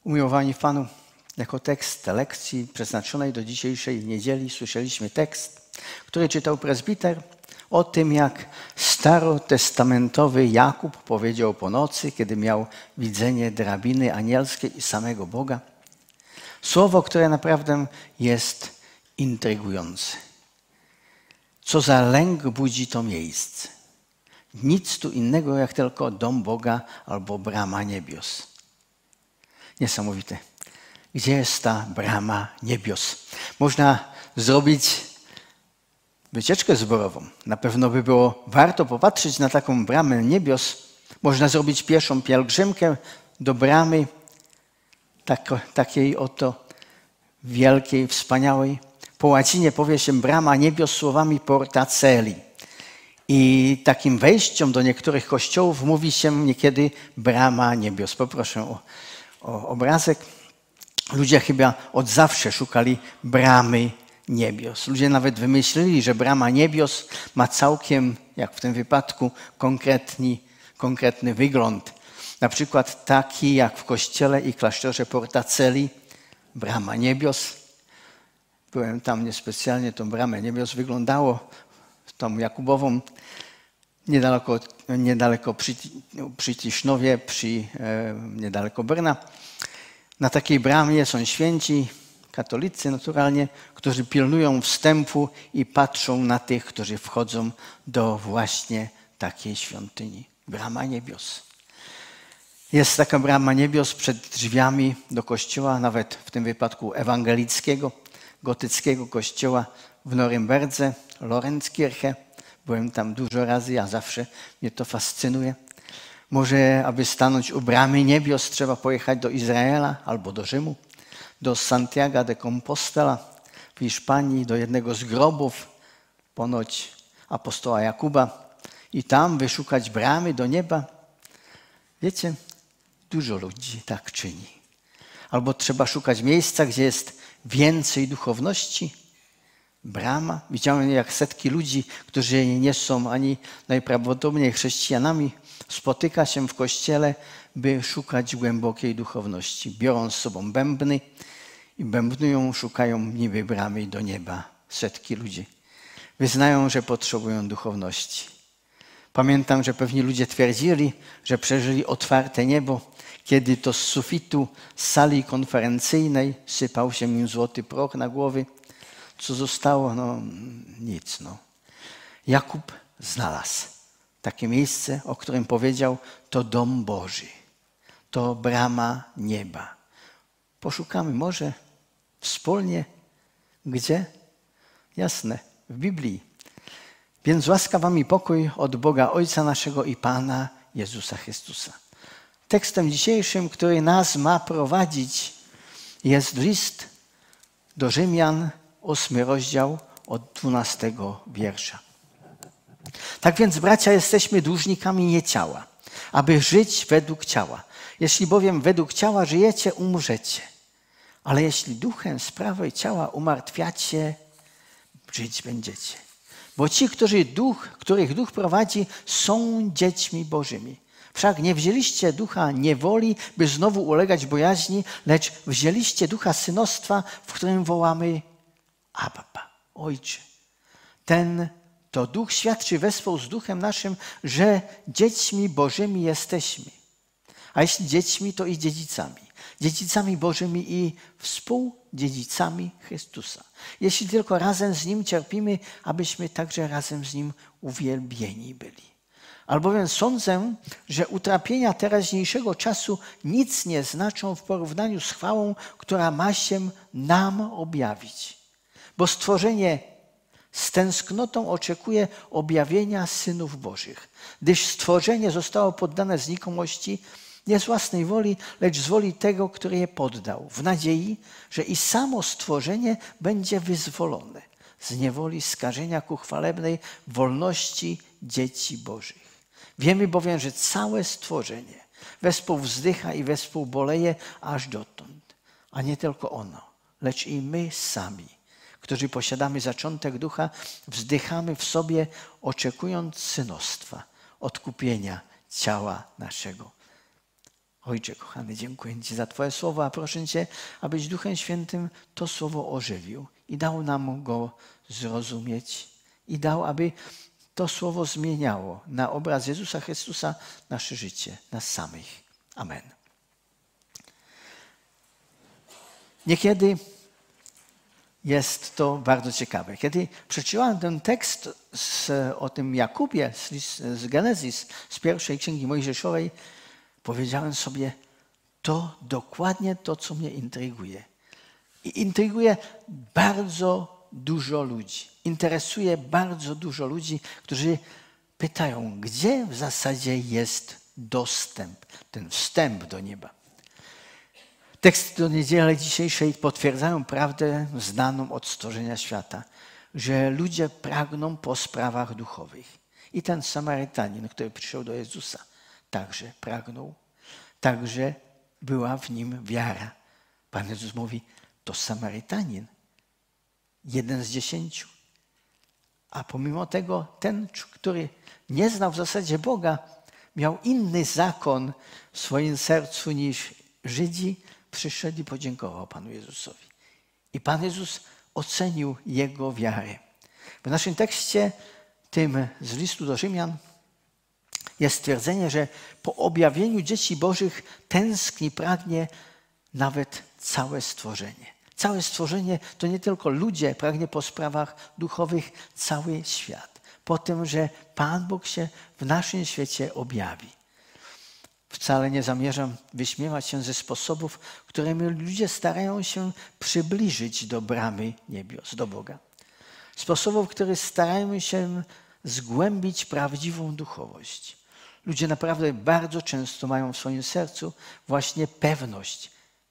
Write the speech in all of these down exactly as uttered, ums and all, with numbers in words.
Umiłowani w Panu, jako tekst lekcji przeznaczonej do dzisiejszej niedzieli słyszeliśmy tekst, który czytał prezbiter o tym, jak starotestamentowy Jakub powiedział po nocy, kiedy miał widzenie drabiny anielskiej i samego Boga. Słowo, które naprawdę jest intrygujące. Co za lęk budzi to miejsce. Nic tu innego jak tylko dom Boga albo brama niebios. Niesamowite. Gdzie jest ta brama niebios? Można zrobić wycieczkę zborową. Na pewno by było warto popatrzeć na taką bramę niebios. Można zrobić pieszą pielgrzymkę do bramy tak, takiej oto wielkiej, wspaniałej. Po łacinie powie się brama niebios słowami porta celi. I takim wejściem do niektórych kościołów mówi się niekiedy brama niebios. Poproszę o, o obrazek. Ludzie chyba od zawsze szukali bramy niebios. Ludzie nawet wymyślili, że brama niebios ma całkiem, jak w tym wypadku, konkretny, konkretny wygląd. Na przykład taki jak w kościele i klasztorze Porta Celi, brama niebios. Byłem tam niespecjalnie, tą bramę niebios wyglądało, tą Jakubową, niedaleko, niedaleko przy, przy Tisznowie, przy, e, niedaleko Brna. Na takiej bramie są święci, katolicy naturalnie, którzy pilnują wstępu i patrzą na tych, którzy wchodzą do właśnie takiej świątyni. Brama niebios. Jest taka brama niebios przed drzwiami do kościoła, nawet w tym wypadku ewangelickiego, gotyckiego kościoła w Norymberdze, Lorenzkirche. Byłem tam dużo razy, a zawsze mnie to fascynuje. Może, aby stanąć u bramy niebios, trzeba pojechać do Izraela albo do Rzymu, do Santiago de Compostela w Hiszpanii, do jednego z grobów, ponoć apostoła Jakuba, i tam wyszukać bramy do nieba. Wiecie, dużo ludzi tak czyni. Albo trzeba szukać miejsca, gdzie jest więcej duchowności. Brama. Widziałem, jak setki ludzi, którzy nie są ani najprawdopodobniej chrześcijanami, spotyka się w kościele, by szukać głębokiej duchowności. Biorą z sobą bębny i bębnują, szukają niby bramy do nieba. Setki ludzi. Wyznają, że potrzebują duchowności. Pamiętam, że pewni ludzie twierdzili, że przeżyli otwarte niebo, kiedy to z sufitu sali konferencyjnej sypał się im złoty proch na głowy. Co zostało? No nic. No. Jakub znalazł takie miejsce, o którym powiedział, to dom Boży, to brama nieba. Poszukamy może wspólnie. Gdzie? Jasne, w Biblii. Więc łaska wam i pokój od Boga Ojca naszego i Pana Jezusa Chrystusa. Tekstem dzisiejszym, który nas ma prowadzić, jest list do Rzymian, ósmy rozdział od dwunastego wiersza. Tak więc, bracia, jesteśmy dłużnikami nie ciała, aby żyć według ciała. Jeśli bowiem według ciała żyjecie, umrzecie. Ale jeśli duchem sprawy ciała umartwiacie, żyć będziecie. Bo ci, którzy duch, których duch prowadzi, są dziećmi Bożymi. Wszak nie wzięliście ducha niewoli, by znowu ulegać bojaźni, lecz wzięliście ducha synostwa, w którym wołamy Abba, Ojcze. Ten to duch świadczy wespół z duchem naszym, że dziećmi Bożymi jesteśmy. A jeśli dziećmi, to i dziedzicami. Dziedzicami Bożymi i współdziedzicami Chrystusa. Jeśli tylko razem z Nim cierpimy, abyśmy także razem z Nim uwielbieni byli. Albowiem sądzę, że utrapienia teraźniejszego czasu nic nie znaczą w porównaniu z chwałą, która ma się nam objawić. Bo stworzenie z tęsknotą oczekuje objawienia synów Bożych, gdyż stworzenie zostało poddane znikomości nie z własnej woli, lecz z woli tego, który je poddał, w nadziei, że i samo stworzenie będzie wyzwolone z niewoli skażenia ku chwalebnej wolności dzieci Bożych. Wiemy bowiem, że całe stworzenie wespół wzdycha i wespół boleje aż dotąd, a nie tylko ono, lecz i my sami, którzy posiadamy zaczątek ducha, wzdychamy w sobie, oczekując synostwa, odkupienia ciała naszego. Ojcze kochany, dziękuję Ci za Twoje słowo, a proszę Cię, abyś Duchem Świętym to słowo ożywił i dał nam go zrozumieć i dał, aby to słowo zmieniało na obraz Jezusa Chrystusa nasze życie, nas samych. Amen. Niekiedy jest to bardzo ciekawe. Kiedy przeczytałem ten tekst z, o tym Jakubie z, z Genezis, z pierwszej Księgi Mojżeszowej, powiedziałem sobie, to dokładnie to, co mnie intryguje. I intryguje bardzo dużo ludzi. Interesuje bardzo dużo ludzi, którzy pytają, gdzie w zasadzie jest dostęp, ten wstęp do nieba. Teksty do niedzieli dzisiejszej potwierdzają prawdę znaną od stworzenia świata, że ludzie pragną po sprawach duchowych. I ten Samarytanin, który przyszedł do Jezusa, także pragnął, także była w nim wiara. Pan Jezus mówi, to Samarytanin, jeden z dziesięciu. A pomimo tego ten, który nie znał w zasadzie Boga, miał inny zakon w swoim sercu niż Żydzi, przyszedł i podziękował Panu Jezusowi. I Pan Jezus ocenił jego wiarę. W naszym tekście, tym z listu do Rzymian, jest stwierdzenie, że po objawieniu dzieci Bożych tęskni, pragnie nawet całe stworzenie. Całe stworzenie to nie tylko ludzie, pragnie po sprawach duchowych cały świat. Po tym, że Pan Bóg się w naszym świecie objawi. Wcale nie zamierzam wyśmiewać się ze sposobów, którymi ludzie starają się przybliżyć do bramy niebios, do Boga. Sposobów, które starają się zgłębić prawdziwą duchowość. Ludzie naprawdę bardzo często mają w swoim sercu właśnie pewność,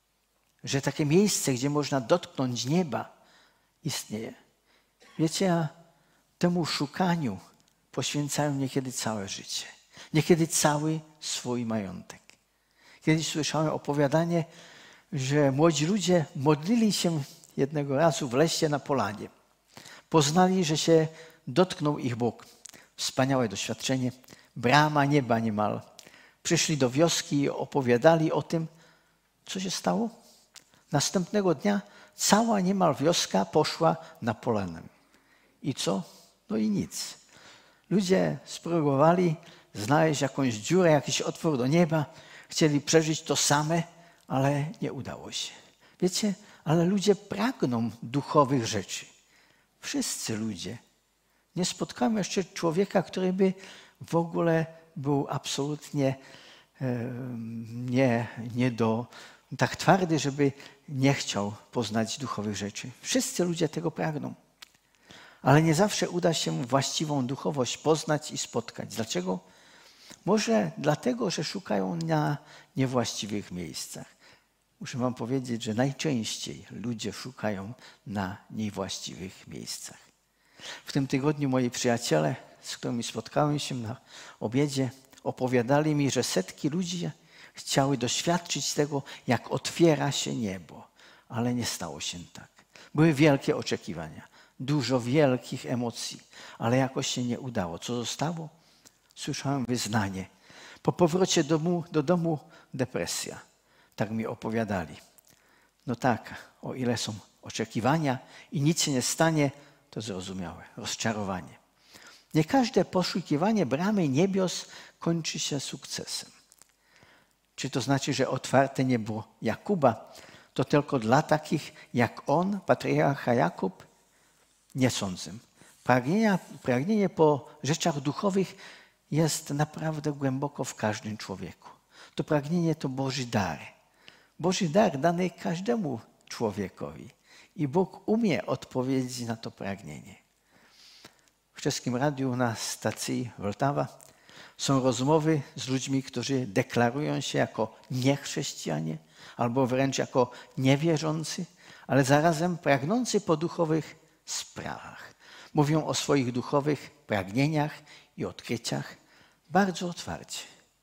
że takie miejsce, gdzie można dotknąć nieba, istnieje. Wiecie, a temu szukaniu poświęcają niekiedy całe życie. Niekiedy cały swój majątek. Kiedyś słyszałem opowiadanie, że młodzi ludzie modlili się jednego razu w lesie na polanie. Poznali, że się dotknął ich Bóg. Wspaniałe doświadczenie. Brama nieba niemal. Przyszli do wioski i opowiadali o tym, co się stało. Następnego dnia cała niemal wioska poszła na polanę. I co? No i nic. Ludzie spróbowali znaleźć jakąś dziurę, jakiś otwór do nieba. Chcieli przeżyć to same, ale nie udało się. Wiecie, ale ludzie pragną duchowych rzeczy. Wszyscy ludzie. Nie spotkałem jeszcze człowieka, który by w ogóle był absolutnie e, nie, nie do, tak twardy, żeby nie chciał poznać duchowych rzeczy. Wszyscy ludzie tego pragną. Ale nie zawsze uda się właściwą duchowość poznać i spotkać. Dlaczego? Może dlatego, że szukają na niewłaściwych miejscach. Muszę wam powiedzieć, że najczęściej ludzie szukają na niewłaściwych miejscach. W tym tygodniu moi przyjaciele, z którymi spotkałem się na obiedzie, opowiadali mi, że setki ludzi chciały doświadczyć tego, jak otwiera się niebo. Ale nie stało się tak. Były wielkie oczekiwania, dużo wielkich emocji, ale jakoś się nie udało. Co zostało? Słyszałem wyznanie. Po powrocie do domu, do domu depresja. Tak mi opowiadali. No tak, o ile są oczekiwania i nic się nie stanie, to zrozumiałe. Rozczarowanie. Nie każde poszukiwanie bramy niebios kończy się sukcesem. Czy to znaczy, że otwarte niebo Jakuba to tylko dla takich jak on, patriarcha Jakub? Nie sądzę. Pragnienia, pragnienie po rzeczach duchowych jest naprawdę głęboko w każdym człowieku. To pragnienie to Boży dar. Boży dar dany każdemu człowiekowi. I Bóg umie odpowiedzieć na to pragnienie. W czeskim radiu na stacji Vltava są rozmowy z ludźmi, którzy deklarują się jako niechrześcijanie albo wręcz jako niewierzący, ale zarazem pragnący po duchowych sprawach. Mówią o swoich duchowych pragnieniach i odkryciach bardzo otwarcie.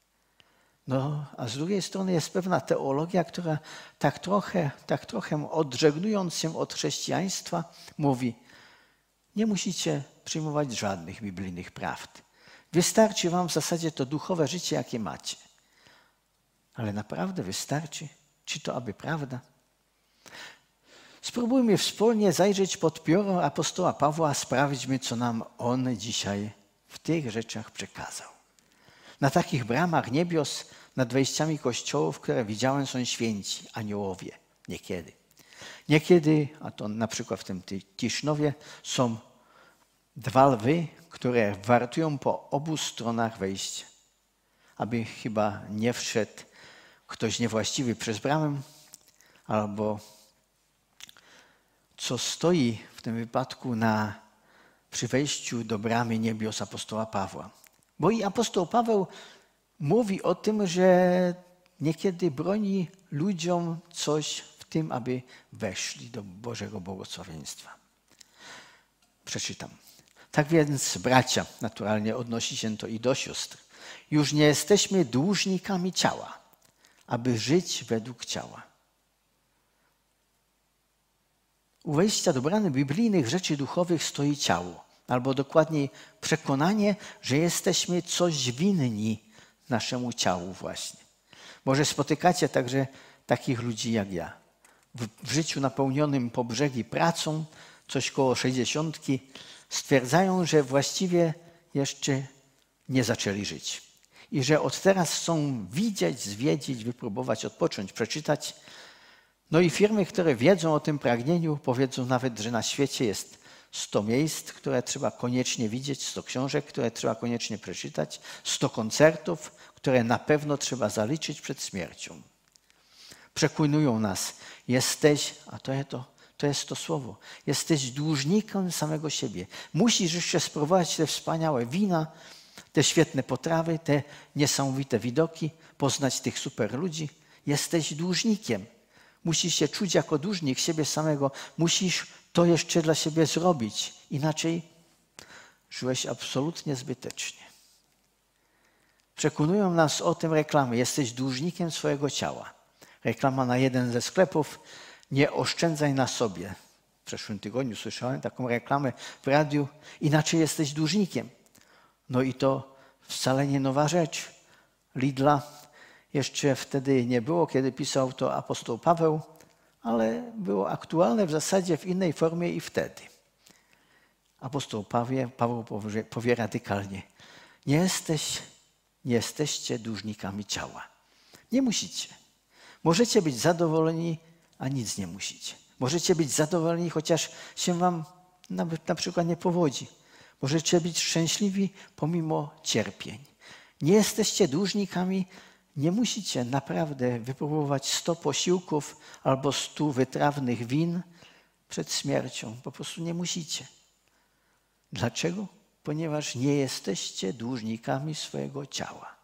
No, a z drugiej strony jest pewna teologia, która tak trochę, tak trochę odżegnując się od chrześcijaństwa mówi, nie musicie przyjmować żadnych biblijnych prawd. Wystarczy wam w zasadzie to duchowe życie, jakie macie. Ale naprawdę wystarczy? Czy to aby prawda? Spróbujmy wspólnie zajrzeć pod pióro apostoła Pawła, a sprawdźmy, co nam on dzisiaj w tych rzeczach przekazał. Na takich bramach niebios, nad wejściami kościołów, które widziałem, są święci, aniołowie. Niekiedy. Niekiedy, a to na przykład w tym Tisznowie, są dwa lwy, które wartują po obu stronach wejścia, aby chyba nie wszedł ktoś niewłaściwy przez bramę, albo co stoi w tym wypadku na, przy wejściu do bramy niebios apostoła Pawła. Bo i apostoł Paweł mówi o tym, że niekiedy broni ludziom coś w tym, aby weszli do Bożego błogosławieństwa. Przeczytam. Tak więc, bracia, naturalnie odnosi się to i do sióstr, już nie jesteśmy dłużnikami ciała, aby żyć według ciała. U wejścia do bramy biblijnych rzeczy duchowych stoi ciało, albo dokładniej przekonanie, że jesteśmy coś winni naszemu ciału właśnie. Może spotykacie także takich ludzi jak ja. W, w życiu napełnionym po brzegi pracą, coś koło sześćdziesiątki, stwierdzają, że właściwie jeszcze nie zaczęli żyć. I że od teraz chcą widzieć, zwiedzić, wypróbować, odpocząć, przeczytać. No i firmy, które wiedzą o tym pragnieniu, powiedzą nawet, że na świecie jest sto miejsc, które trzeba koniecznie widzieć, sto książek, które trzeba koniecznie przeczytać, sto koncertów, które na pewno trzeba zaliczyć przed śmiercią. Przekonują nas, jesteś, a to jest to, to jest to słowo, jesteś dłużnikiem samego siebie. Musisz jeszcze spróbować te wspaniałe wina, te świetne potrawy, te niesamowite widoki, poznać tych super ludzi. Jesteś dłużnikiem. Musisz się czuć jako dłużnik siebie samego. Musisz to jeszcze dla siebie zrobić. Inaczej żyłeś absolutnie zbytecznie. Przekonują nas o tym reklamy. Jesteś dłużnikiem swojego ciała. Reklama na jeden ze sklepów. Nie oszczędzaj na sobie. W zeszłym tygodniu słyszałem taką reklamę w radiu. Inaczej jesteś dłużnikiem. No i to wcale nie nowa rzecz. Lidla jeszcze wtedy nie było, kiedy pisał to apostoł Paweł, ale było aktualne w zasadzie w innej formie i wtedy. Apostoł Paweł, Paweł powie, powie radykalnie, nie, jesteś, nie jesteście dłużnikami ciała. Nie musicie. Możecie być zadowoleni, a nic nie musicie. Możecie być zadowoleni, chociaż się wam nawet na przykład nie powodzi. Możecie być szczęśliwi pomimo cierpień. Nie jesteście dłużnikami, nie musicie naprawdę wypróbować sto posiłków albo stu wytrawnych win przed śmiercią. Po prostu nie musicie. Dlaczego? Ponieważ nie jesteście dłużnikami swojego ciała.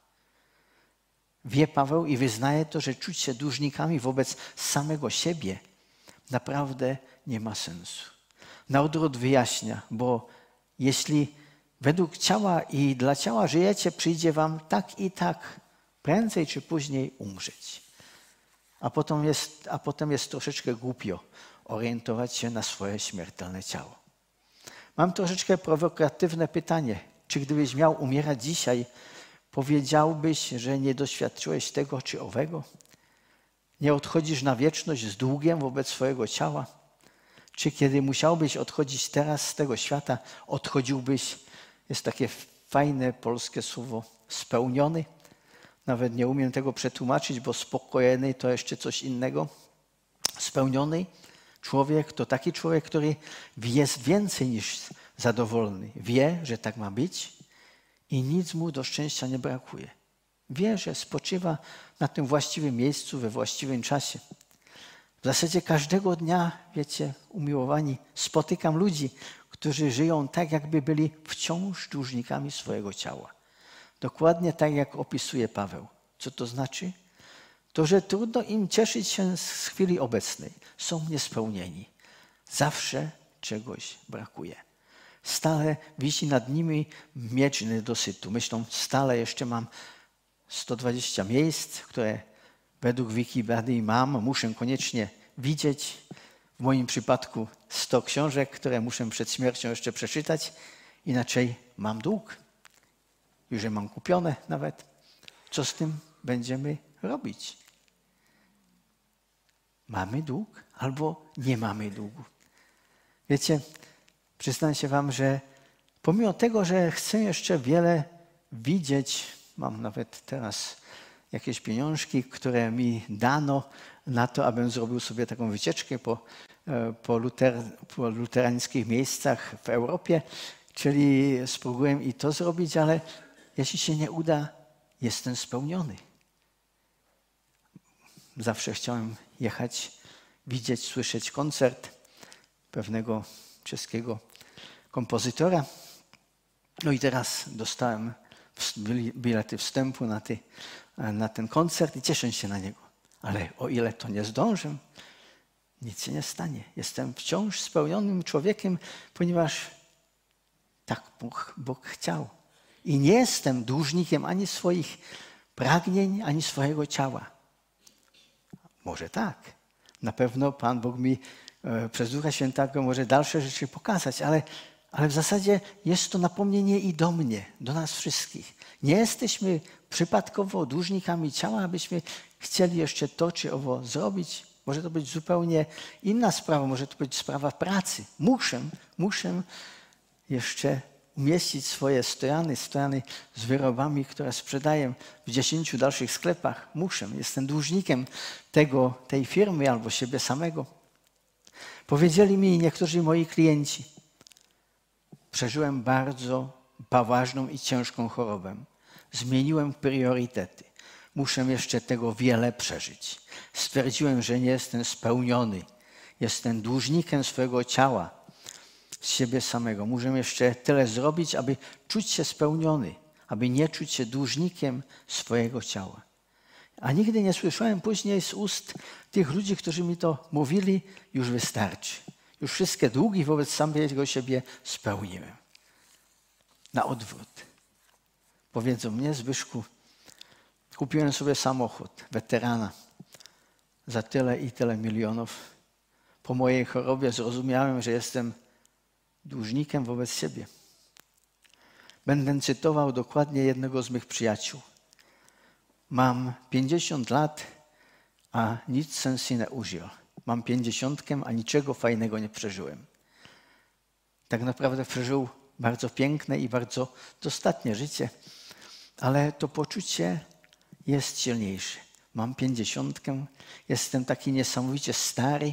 Wie Paweł i wyznaje to, że czuć się dłużnikami wobec samego siebie naprawdę nie ma sensu. Na odwrót wyjaśnia, bo jeśli według ciała i dla ciała żyjecie, przyjdzie wam tak i tak prędzej czy później umrzeć. A potem jest, a potem jest troszeczkę głupio orientować się na swoje śmiertelne ciało. Mam troszeczkę prowokatywne pytanie. Czy gdybyś miał umierać dzisiaj, powiedziałbyś, że nie doświadczyłeś tego czy owego? Nie odchodzisz na wieczność z długiem wobec swojego ciała? Czy kiedy musiałbyś odchodzić teraz z tego świata, odchodziłbyś, jest takie fajne polskie słowo, spełniony? Nawet nie umiem tego przetłumaczyć, bo spokojny to jeszcze coś innego. Spełniony człowiek to taki człowiek, który jest więcej niż zadowolony. Wie, że tak ma być i nic mu do szczęścia nie brakuje. Wie, że spoczywa na tym właściwym miejscu, we właściwym czasie. W zasadzie każdego dnia, wiecie, umiłowani, spotykam ludzi, którzy żyją tak, jakby byli wciąż dłużnikami swojego ciała. Dokładnie tak, jak opisuje Paweł. Co to znaczy? To, że trudno im cieszyć się z chwili obecnej. Są niespełnieni. Zawsze czegoś brakuje. Stale wisi nad nimi miecz niedosytu. Myślą, stale jeszcze mam sto dwadzieścia miejsc, które według Wikipedii mam, muszę koniecznie widzieć. W moim przypadku sto książek, które muszę przed śmiercią jeszcze przeczytać. Inaczej mam dług. Już je mam kupione nawet. Co z tym będziemy robić. Mamy dług albo nie mamy długu. Wiecie, przyznam się wam, że pomimo tego, że chcę jeszcze wiele widzieć, mam nawet teraz jakieś pieniążki, które mi dano na to, abym zrobił sobie taką wycieczkę po, po, luter, po luterańskich miejscach w Europie, czyli spróbuję i to zrobić, ale jeśli się nie uda, jestem spełniony. Zawsze chciałem jechać, widzieć, słyszeć koncert pewnego czeskiego kompozytora. No i teraz dostałem bilety wstępu na, ty, na ten koncert i cieszę się na niego. Ale o ile to nie zdążę, nic się nie stanie. Jestem wciąż spełnionym człowiekiem, ponieważ tak Bóg, Bóg chciał. I nie jestem dłużnikiem ani swoich pragnień, ani swojego ciała. Może tak. Na pewno Pan Bóg mi e, przez Ducha Świętego może dalsze rzeczy pokazać, ale, ale w zasadzie jest to napomnienie i do mnie, do nas wszystkich. Nie jesteśmy przypadkowo dłużnikami ciała, abyśmy chcieli jeszcze to czy owo zrobić. Może to być zupełnie inna sprawa, może to być sprawa pracy. Muszę, muszę jeszcze umieścić swoje stojany, stojany z wyrobami, które sprzedaję w dziesięciu dalszych sklepach. Muszę, jestem dłużnikiem tego, tej firmy albo siebie samego. Powiedzieli mi niektórzy moi klienci, przeżyłem bardzo poważną i ciężką chorobę. Zmieniłem priorytety. Muszę jeszcze tego wiele przeżyć. Stwierdziłem, że nie jestem spełniony. Jestem dłużnikiem swojego ciała, z siebie samego. Muszę jeszcze tyle zrobić, aby czuć się spełniony, aby nie czuć się dłużnikiem swojego ciała. A nigdy nie słyszałem później z ust tych ludzi, którzy mi to mówili, już wystarczy. Już wszystkie długi wobec samego siebie spełniłem. Na odwrót. Powiedzą mnie, Zbyszku, kupiłem sobie samochód, weterana, za tyle i tyle milionów. Po mojej chorobie zrozumiałem, że jestem dłużnikiem wobec siebie. Będę cytował dokładnie jednego z mych przyjaciół. Mam pięćdziesiąt lat, a nic sensu nie użył. Mam pięćdziesiątkę, a niczego fajnego nie przeżyłem. Tak naprawdę przeżył bardzo piękne i bardzo dostatnie życie, ale to poczucie jest silniejsze. Mam pięćdziesiątkę, jestem taki niesamowicie stary,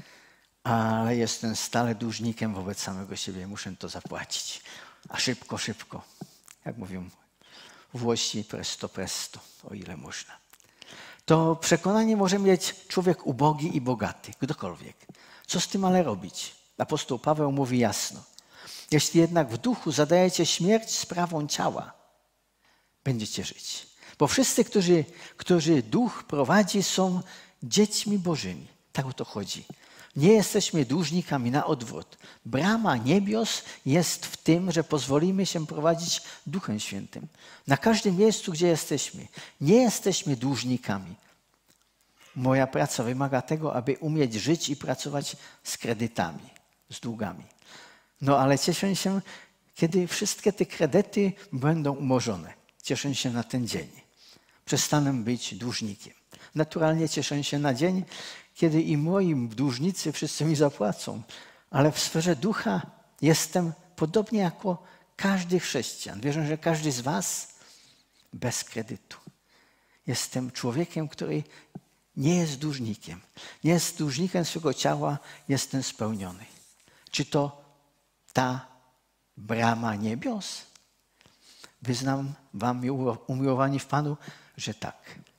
ale jestem stale dłużnikiem wobec samego siebie. Muszę to zapłacić. A szybko, szybko. Jak mówią Włosi, presto, presto, o ile można. To przekonanie może mieć człowiek ubogi i bogaty, ktokolwiek. Co z tym ale robić? Apostoł Paweł mówi jasno. Jeśli jednak w duchu zadajecie śmierć sprawą ciała, będziecie żyć. Bo wszyscy, którzy, którzy duch prowadzi, są dziećmi Bożymi. Tak o to chodzi. Nie jesteśmy dłużnikami, na odwrót. Brama niebios jest w tym, że pozwolimy się prowadzić Duchem Świętym. Na każdym miejscu, gdzie jesteśmy. Nie jesteśmy dłużnikami. Moja praca wymaga tego, aby umieć żyć i pracować z kredytami, z długami. No ale cieszę się, kiedy wszystkie te kredyty będą umorzone. Cieszę się na ten dzień. Przestanę być dłużnikiem. Naturalnie cieszę się na dzień, kiedy i moi dłużnicy wszyscy mi zapłacą. Ale w sferze ducha jestem podobnie jako każdy chrześcijan. Wierzę, że każdy z was bez kredytu. Jestem człowiekiem, który nie jest dłużnikiem. Nie jest dłużnikiem swego ciała, jestem spełniony. Czy to ta brama niebios? Wyznam wam, umiłowani w Panu, że tak.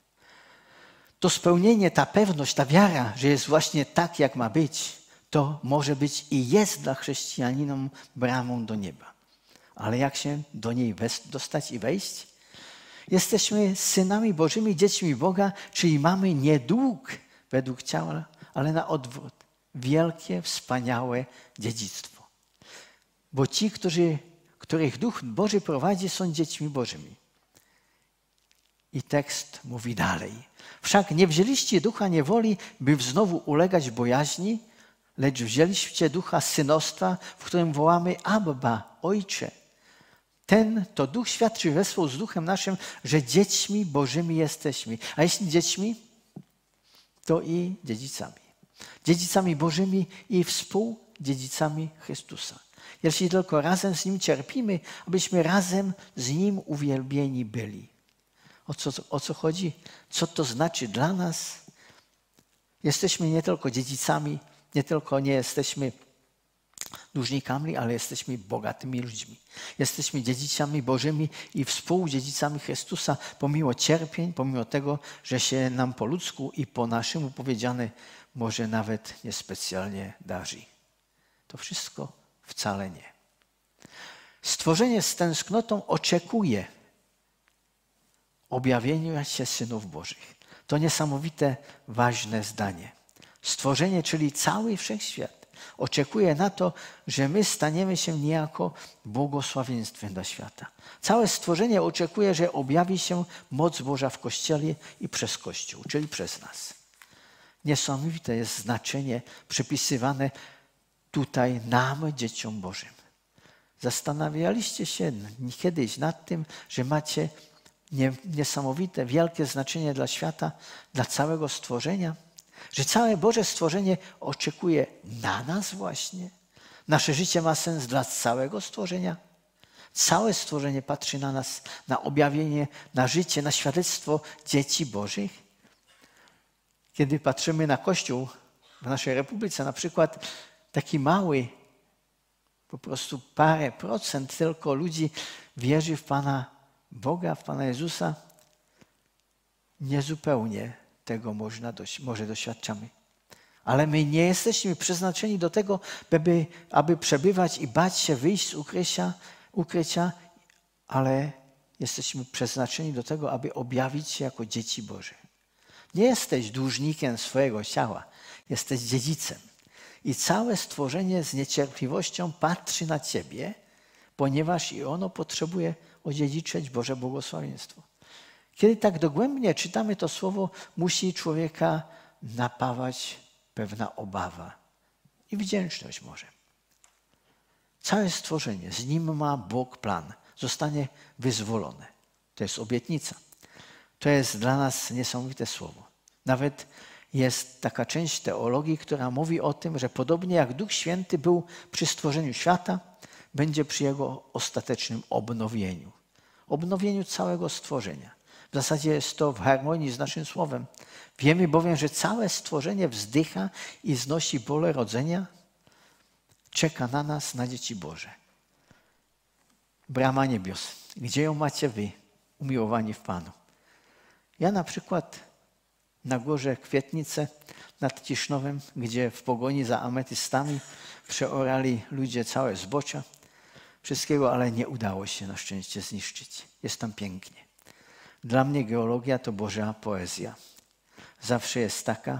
To spełnienie, ta pewność, ta wiara, że jest właśnie tak, jak ma być, to może być i jest dla chrześcijanina bramą do nieba. Ale jak się do niej dostać i wejść? Jesteśmy synami Bożymi, dziećmi Boga, czyli mamy nie dług według ciała, ale na odwrót. Wielkie, wspaniałe dziedzictwo. Bo ci, którzy, których Duch Boży prowadzi, są dziećmi Bożymi. I tekst mówi dalej. Wszak nie wzięliście ducha niewoli, by znowu ulegać bojaźni, lecz wzięliście ducha synostwa, w którym wołamy Abba, Ojcze. Ten to Duch świadczy wespół z Duchem naszym, że dziećmi Bożymi jesteśmy. A jeśli dziećmi, to i dziedzicami. Dziedzicami Bożymi i współdziedzicami Chrystusa. Jeśli tylko razem z Nim cierpimy, abyśmy razem z Nim uwielbieni byli. O co, o co chodzi? Co to znaczy dla nas? Jesteśmy nie tylko dziedzicami, nie tylko nie jesteśmy dłużnikami, ale jesteśmy bogatymi ludźmi. Jesteśmy dziedzicami Bożymi i współdziedzicami Chrystusa, pomimo cierpień, pomimo tego, że się nam po ludzku i po naszemu powiedziane może nawet niespecjalnie darzy. To wszystko wcale nie. Stworzenie z tęsknotą oczekuje objawienia się synów Bożych. To niesamowite, ważne zdanie. Stworzenie, czyli cały wszechświat, oczekuje na to, że my staniemy się niejako błogosławieństwem dla świata. Całe stworzenie oczekuje, że objawi się moc Boża w Kościele i przez Kościół, czyli przez nas. Niesamowite jest znaczenie przypisywane tutaj nam, dzieciom Bożym. Zastanawialiście się kiedyś nad tym, że macie niesamowite, wielkie znaczenie dla świata, dla całego stworzenia? Że całe Boże stworzenie oczekuje na nas właśnie? Nasze życie ma sens dla całego stworzenia? Całe stworzenie patrzy na nas, na objawienie, na życie, na świadectwo dzieci Bożych? Kiedy patrzymy na Kościół w naszej Republice, na przykład taki mały, po prostu parę procent tylko ludzi wierzy w Pana Boga, w Pana Jezusa, niezupełnie tego można, może doświadczamy. Ale my nie jesteśmy przeznaczeni do tego, aby, aby przebywać i bać się wyjść z ukrycia, ukrycia, ale jesteśmy przeznaczeni do tego, aby objawić się jako dzieci Boże. Nie jesteś dłużnikiem swojego ciała, jesteś dziedzicem. I całe stworzenie z niecierpliwością patrzy na Ciebie, ponieważ i ono potrzebuje odziedziczyć Boże błogosławieństwo. Kiedy tak dogłębnie czytamy to słowo, musi człowieka napawać pewna obawa i wdzięczność może. Całe stworzenie, z nim ma Bóg plan, zostanie wyzwolone. To jest obietnica. To jest dla nas niesamowite słowo. Nawet jest taka część teologii, która mówi o tym, że podobnie jak Duch Święty był przy stworzeniu świata, będzie przy jego ostatecznym obnowieniu. Obnowieniu całego stworzenia. W zasadzie jest to w harmonii z naszym słowem. Wiemy bowiem, że całe stworzenie wzdycha i znosi bóle rodzenia. Czeka na nas, na dzieci Boże. Brama niebios. Gdzie ją macie wy, umiłowani w Panu? Ja na przykład na górze Kwietnice nad Ciesznowem, gdzie w pogoni za ametystami przeorali ludzie całe zbocza. Wszystkiego, ale nie udało się na szczęście zniszczyć. Jest tam pięknie. Dla mnie geologia to Boża poezja. Zawsze jest taka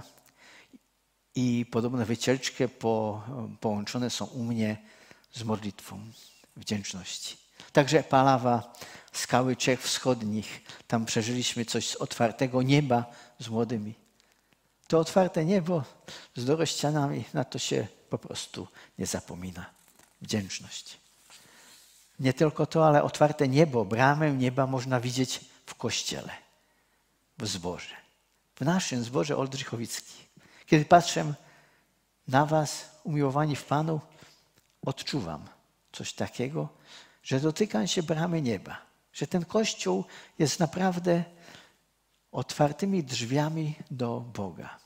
i podobne wycieczki po, połączone są u mnie z modlitwą wdzięczności. Także Palawa, skały Czech Wschodnich, tam przeżyliśmy coś z otwartego nieba z młodymi. To otwarte niebo z dorościanami, na to się po prostu nie zapomina. Wdzięczność. Nie tylko to, ale otwarte niebo, bramę nieba można widzieć w Kościele, w zborze. W naszym zborze Oldrzychowickim. Kiedy patrzę na was, umiłowani w Panu, odczuwam coś takiego, że dotykam się bramy nieba. Że ten Kościół jest naprawdę otwartymi drzwiami do Boga.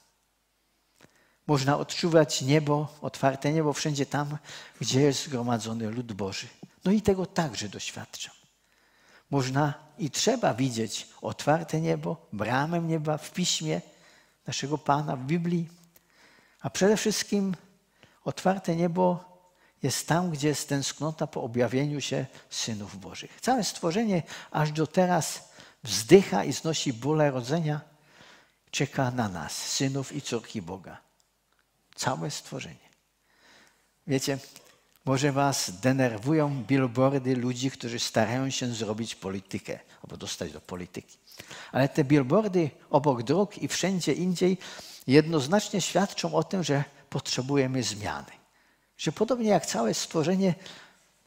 Można odczuwać niebo, otwarte niebo wszędzie tam, gdzie jest zgromadzony lud Boży. No i tego także doświadczam. Można i trzeba widzieć otwarte niebo, bramę nieba w Piśmie naszego Pana, w Biblii. A przede wszystkim otwarte niebo jest tam, gdzie jest tęsknota po objawieniu się synów Bożych. Całe stworzenie aż do teraz wzdycha i znosi bóle rodzenia, czeka na nas, synów i córki Boga. Całe stworzenie. Wiecie, może was denerwują billboardy ludzi, którzy starają się zrobić politykę albo dostać do polityki. Ale te billboardy obok dróg i wszędzie indziej jednoznacznie świadczą o tym, że potrzebujemy zmiany. Że podobnie jak całe stworzenie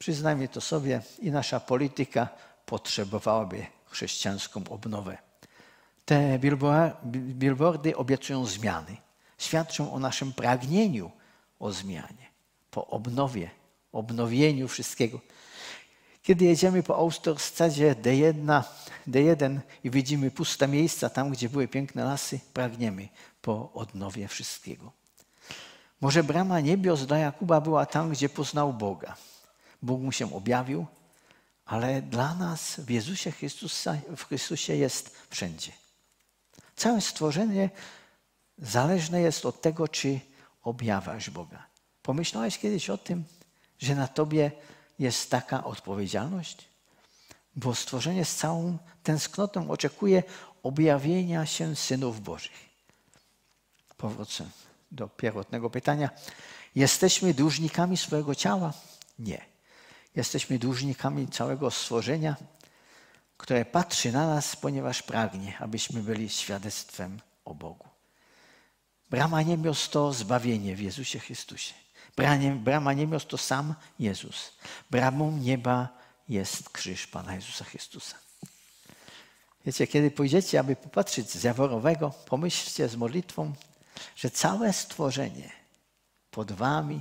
Przyznajmy to sobie, i nasza polityka potrzebowałaby chrześcijańską obnowę. Te billboardy obiecują zmiany. Świadczą o naszym pragnieniu o zmianie, po obnowie, obnowieniu wszystkiego. Kiedy jedziemy po autostradzie D jeden, D jeden i widzimy puste miejsca tam, gdzie były piękne lasy, pragniemy po odnowie wszystkiego. Może brama niebios dla Jakuba była tam, gdzie poznał Boga. Bóg mu się objawił, ale dla nas w Jezusie Chrystusa, w Chrystusie jest wszędzie. Całe stworzenie zależne jest od tego, czy objawiasz Boga. Pomyślałeś kiedyś o tym, że na tobie jest taka odpowiedzialność? Bo stworzenie z całą tęsknotą oczekuje objawienia się synów Bożych. Powrócę do pierwotnego pytania. Jesteśmy dłużnikami swojego ciała? Nie. Jesteśmy dłużnikami całego stworzenia, które patrzy na nas, ponieważ pragnie, abyśmy byli świadectwem o Bogu. Brama niebios to zbawienie w Jezusie Chrystusie. Brama niebios to sam Jezus. Bramą nieba jest krzyż Pana Jezusa Chrystusa. Wiecie, kiedy pójdziecie, aby popatrzeć z Jaworowego, pomyślcie z modlitwą, że całe stworzenie pod wami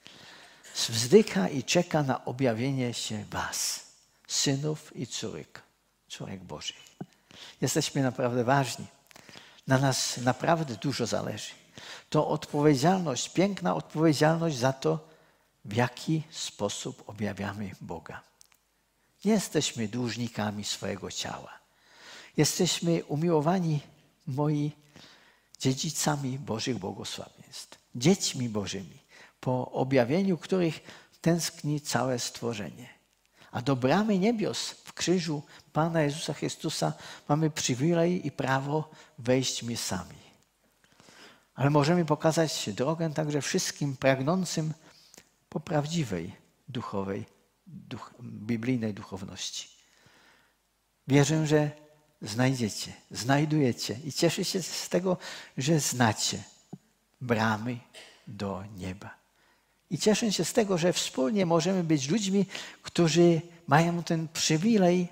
wzdycha i czeka na objawienie się was, synów i córek, córek Bożych. Jesteśmy naprawdę ważni. Na nas naprawdę dużo zależy. To odpowiedzialność, piękna odpowiedzialność za to, w jaki sposób objawiamy Boga. Nie jesteśmy dłużnikami swojego ciała. Jesteśmy umiłowani, moi, dziedzicami Bożych błogosławieństw. Dziećmi Bożymi, po objawieniu których tęskni całe stworzenie. A do bramy niebios w krzyżu Pana Jezusa Chrystusa mamy przywilej i prawo wejść my sami. Ale możemy pokazać drogę także wszystkim pragnącym po prawdziwej duchowej, duch, biblijnej duchowności. Wierzę, że znajdziecie, znajdujecie i cieszę się z tego, że znacie bramy do nieba. I cieszę się z tego, że wspólnie możemy być ludźmi, którzy mają ten przywilej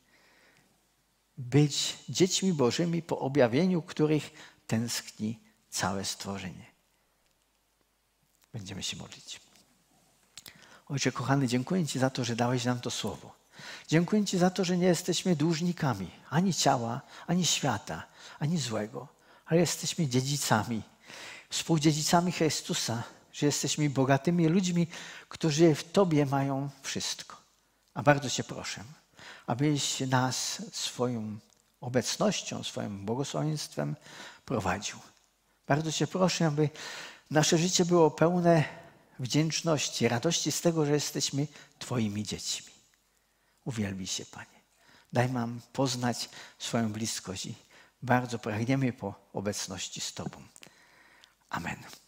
być dziećmi Bożymi, po objawieniu których tęskni całe stworzenie. Będziemy się modlić. Ojcze kochany, dziękuję Ci za to, że dałeś nam to słowo. Dziękuję Ci za to, że nie jesteśmy dłużnikami ani ciała, ani świata, ani złego, ale jesteśmy dziedzicami, współdziedzicami Chrystusa, że jesteśmy bogatymi ludźmi, którzy w Tobie mają wszystko. A bardzo Cię proszę, abyś nas swoją obecnością, swoim błogosławieństwem prowadził. Bardzo Cię proszę, aby nasze życie było pełne wdzięczności, radości z tego, że jesteśmy Twoimi dziećmi. Uwielbij się, Panie. Daj nam poznać swoją bliskość i bardzo pragniemy po obecności z Tobą. Amen.